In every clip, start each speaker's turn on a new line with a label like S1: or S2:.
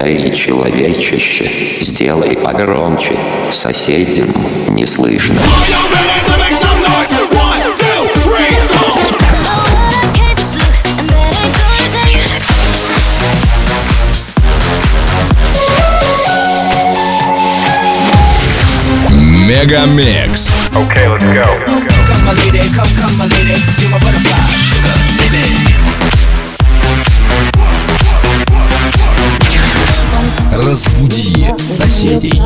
S1: Эй, человечище, сделай погромче, соседям не слышно.
S2: Мегамикс.
S3: Okay, let's go.
S4: Come my lady, come my lady, you're my butterfly, sugar, baby.
S2: Разбуди соседей.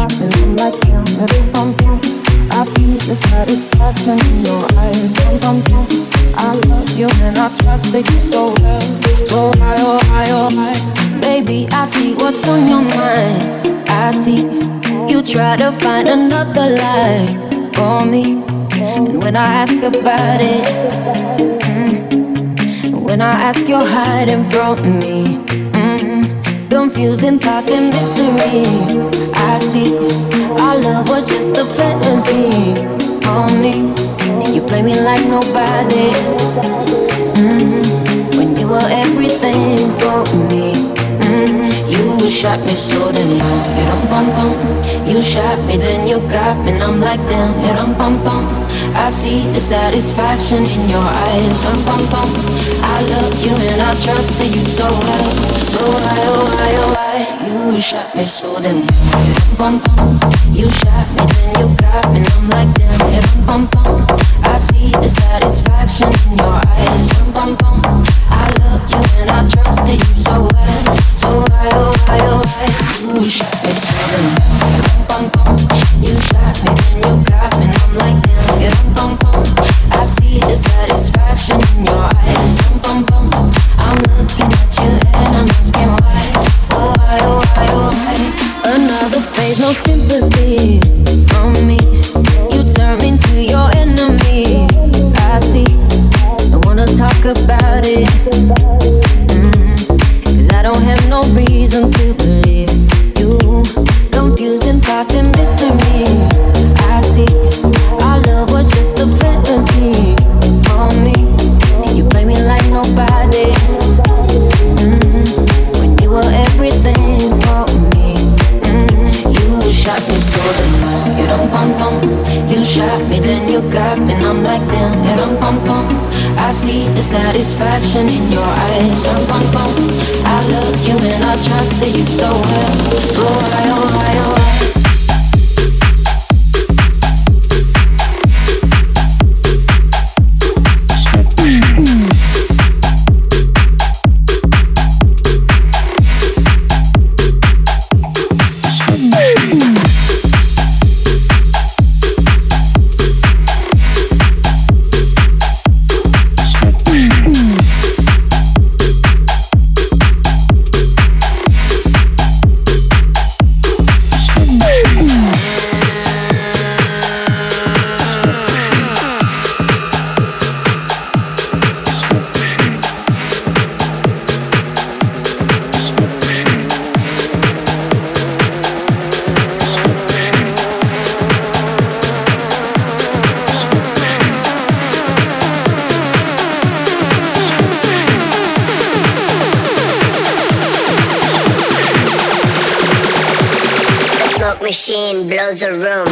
S5: Baby, I see what's on your mind. I see you try to find another life for me. And when I ask about it, when I ask, you're hiding from me. Confusing thoughts and misery. I see our love was just a fantasy on me. You play me like nobody. When you were everything for me. You shot me so then you dum bum bum. You shot me then you got me and I'm like damn you dum bum bum. I see the satisfaction in your eyes dum bum bum. I loved you and I trusted you so well. So why oh why oh why you shot me so then you dum bum bum. You shot me then you got me and I'm like damn you dum bum bum. I see the satisfaction in your eyes dum bum bum. I loved you and I trusted you so well. So why oh why oh why you shot me so then you dum bum bum. You shot me then you got me and I'm like damn you dum bum bum. I see the satisfaction in your eyes dum bum bum. I'm looking at you and I'm asking why oh why oh why oh why. Another phase, no sympathy from me. You turn me into your enemy. I see, don't wanna talk about it. I don't have no reason to believe you. Confusing thoughts and mystery. I see our love was just a fantasy for me. You play me like nobody. When you were everything for me. You shot me so then you dum bum bum. You shot me then you got me and I'm like damn you dum bum bum. I see the satisfaction in your eyes dum bum bum. I loved you and I trusted you so well. So why oh why oh why.
S6: Machine blows the room.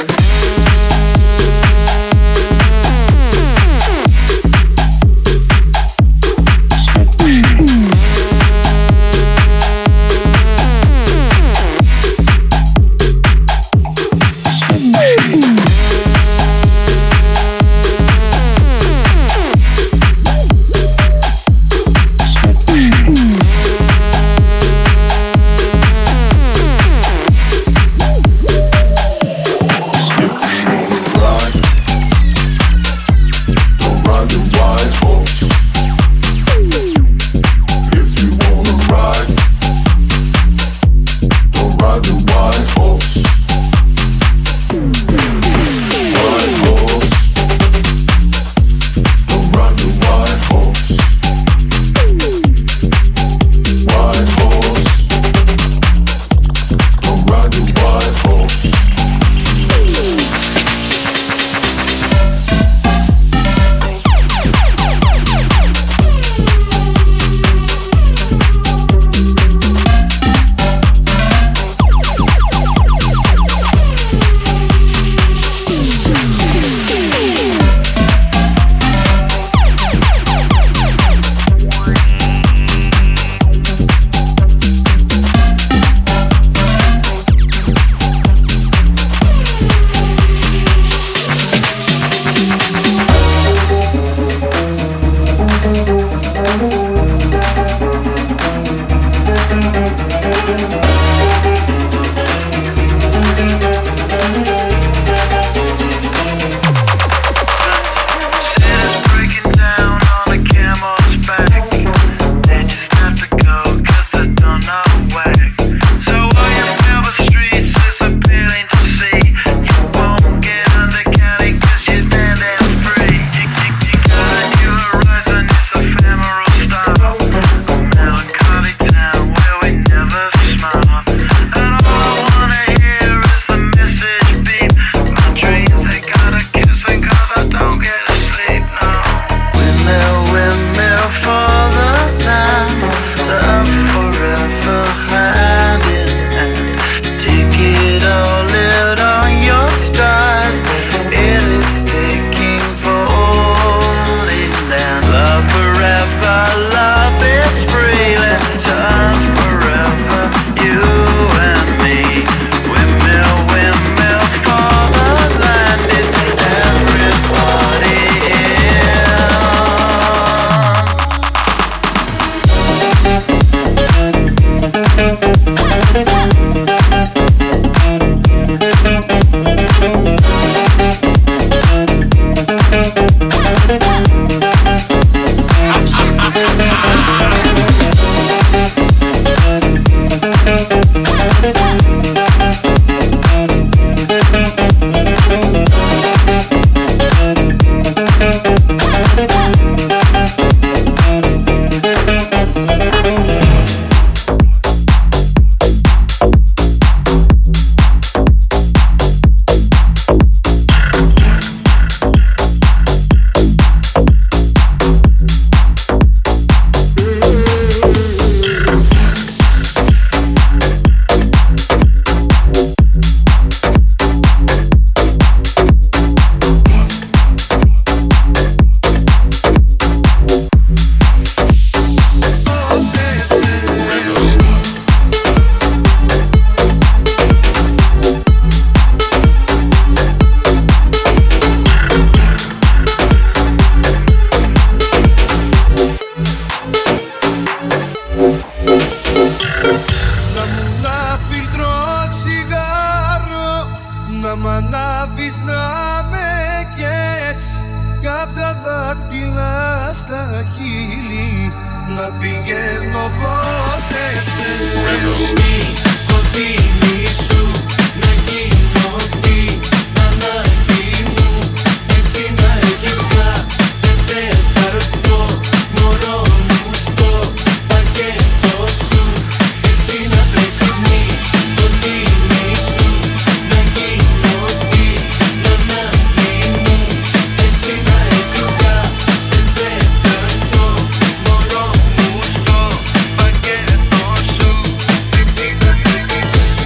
S3: μ' ανάβεις να με καίες κι απ' τα δάχτυλα στα χείλη να πηγαίνω πότε θες. Κοντίνη σου να γίνω την ανάγκη μου, εσύ να έχεις κάθε τέταρτο μωρό μου στο πακέτο σου, εσύ να τρέχεις μη κοντίνη σου να γίνω την ανάγκη μου, εσύ να έχεις κάθε τέταρτο μωρό μου στο πακέτο σου, εσύ να τρέχεις.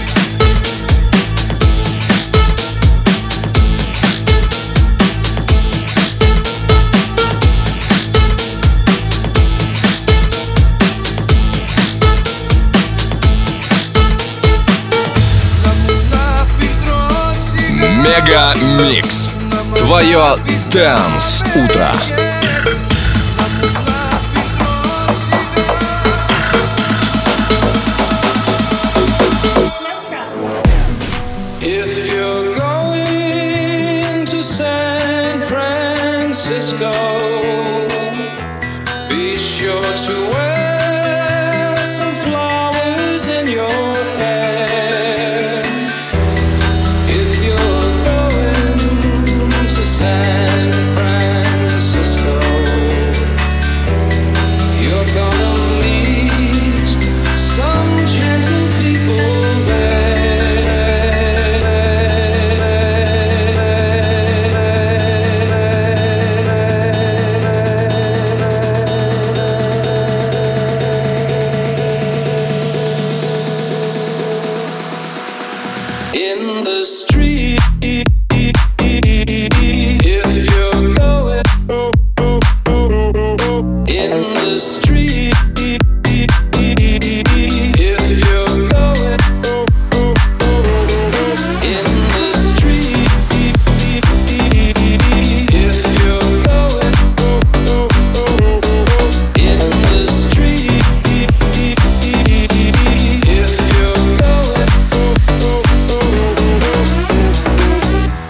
S2: Мега Микс. Твое Dance утро.
S7: If you're going to San Francisco, be sure to wear some flowers in your hair. If you're going to San Francisco, you're gonna meet some gentle people there. In the street, if you're going in the street, if you're going in the street, if you're going in the street, if you're going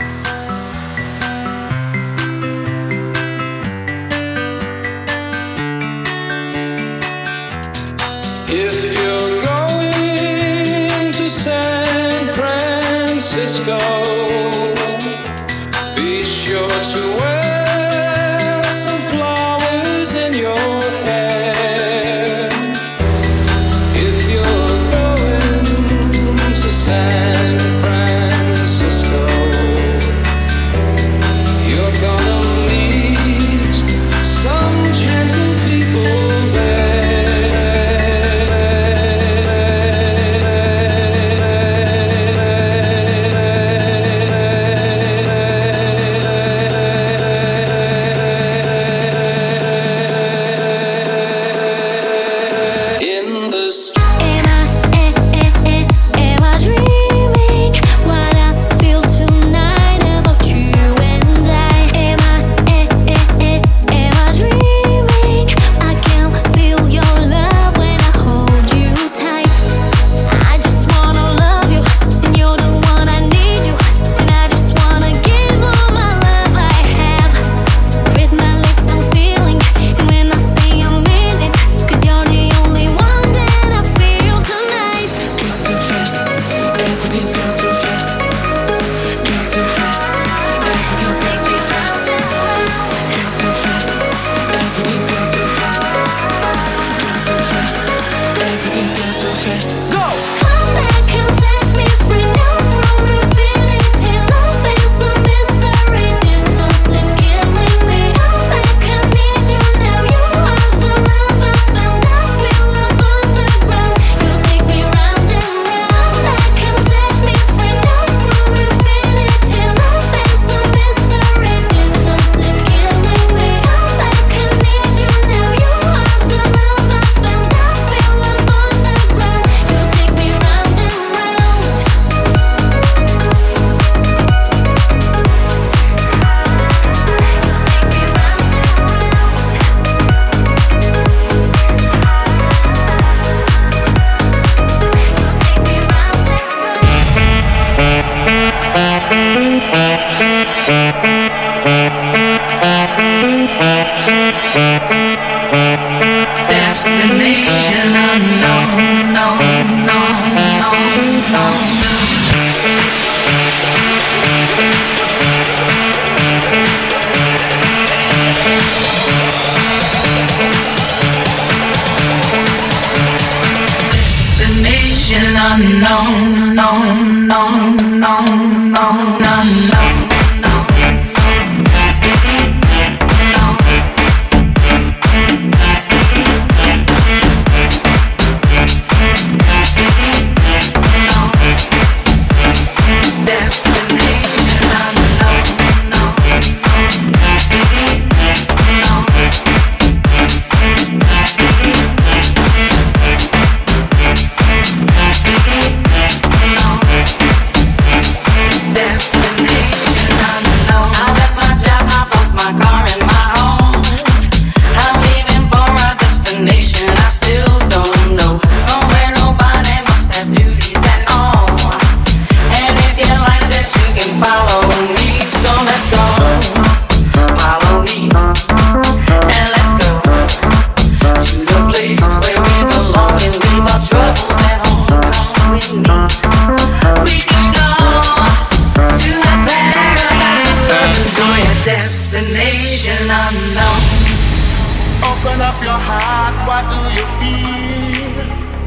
S8: destination unknown.
S9: Open up your heart, what do you feel?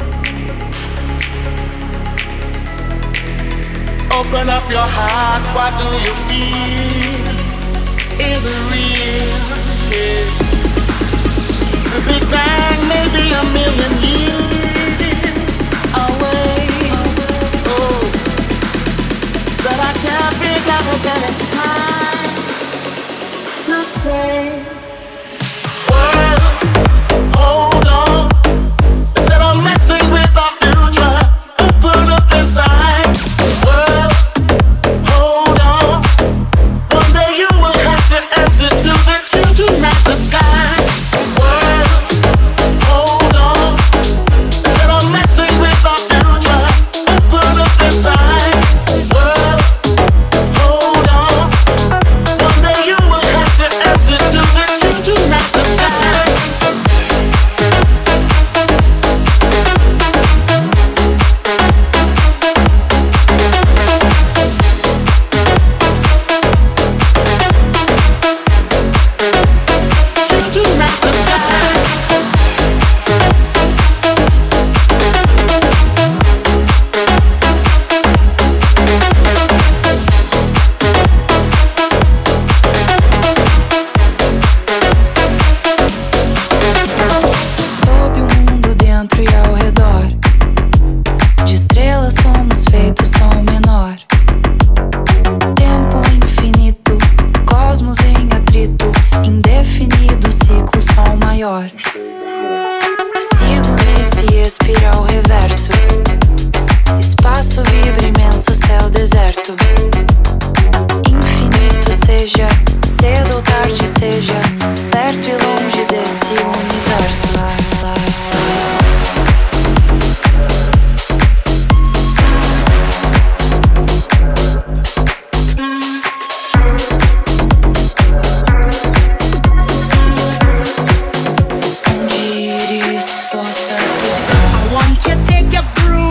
S9: Open up your heart, what do you feel? Is it real? Yeah. The Big Bang may be a million years away. Oh, but I can't think of a better time to say, world, hold on. Instead of messing with our future, open up inside. World, hold on. One day you will have to answer to the children of the sky. World, hold on. Instead of messing with our future, open up inside. World, hold on. One day you will have to answer to the children of the sky. Children of the sky.
S10: Sob o mundo dentro e ao redor. De estrelas somos feitos som menor. Tempo infinito, cosmos em atrito. Indefinido ciclo, som maior. Sigo nesse espiral reverso. Espaço vibra imenso, céu deserto. Infinito seja, cedo ou tarde esteja, perto e longe desse universo. Onde iris possa tocar.
S8: I want you to take your broom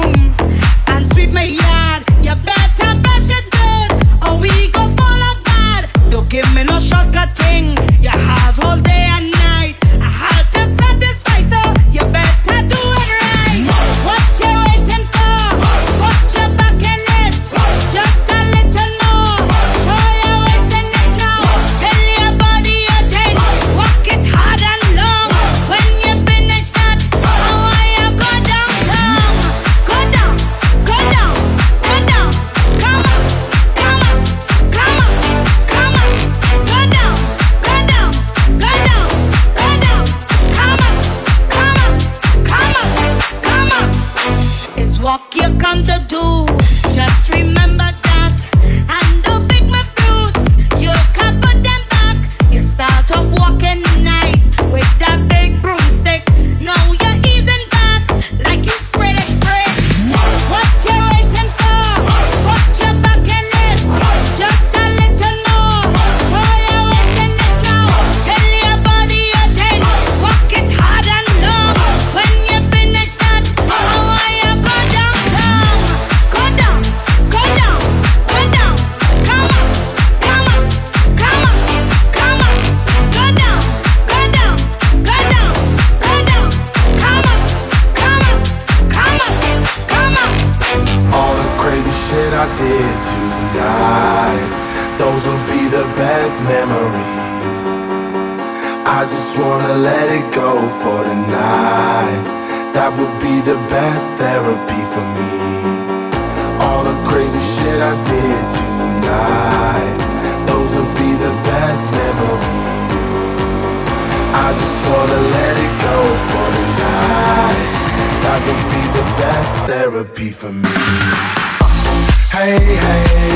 S8: I did tonight, those will be the best memories. I just wanna let it go for tonight. That would be the best therapy for me. All the crazy shit I did tonight, those will be the best memories. I just wanna let it go for tonight. That would be the best therapy for me. Hey, hey,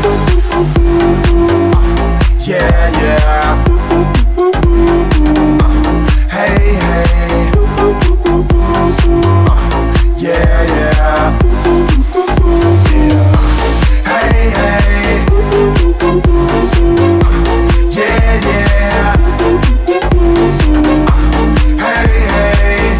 S8: yeah, yeah. Hey, hey, yeah, yeah. Hey, hey, yeah, yeah. Hey, hey,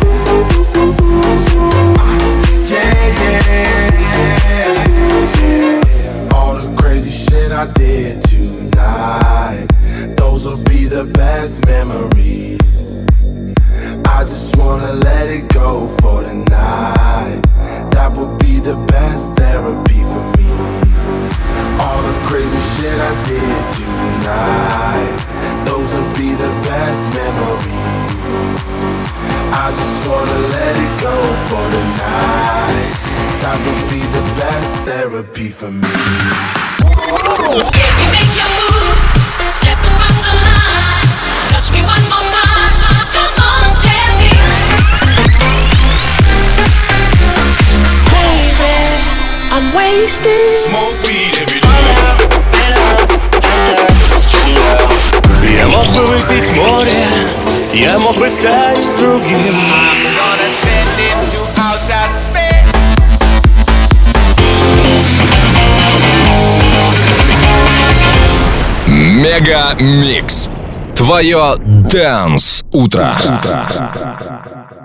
S8: yeah. All the crazy shit I did tonight, those will be the best memories. I just wanna let it go for tonight. That would be the best therapy for me. All the crazy shit I did tonight, those will be the best memories. I just wanna let it go for tonight. That would be the best therapy for me.
S11: If you make your move, step across the line, touch me one more time, come on, tell me. Baby, I'm wasted.
S12: Smoke weed every day. Я мог бы выпить море, я мог бы стать другим. I'm gonna send it to outer space.
S2: Мега Микс. Твое Dance утро.